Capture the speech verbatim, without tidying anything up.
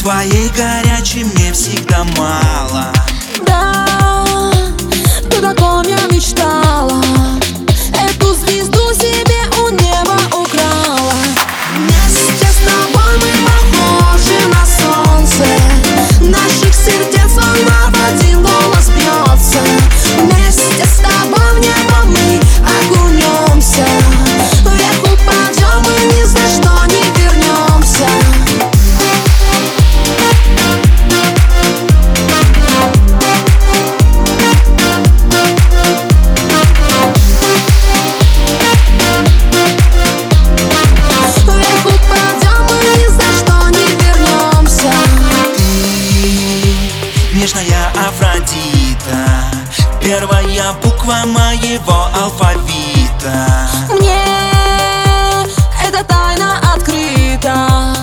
Твоей горячей мне всегда мало. Да, ты таком я мечтала. Эту звезду себе у неба украла. Вместе с тобой мы похожи на солнце. Наших сердец волна в один голос бьется. Вместе с тобой в небо мы окунемся. Вверх упадем и ни за что не вернемся. Вверх упадем и ни за что не вернемся. Ты нежная Афродита, первая буква моего алфавита. Мне эта тайна открыта.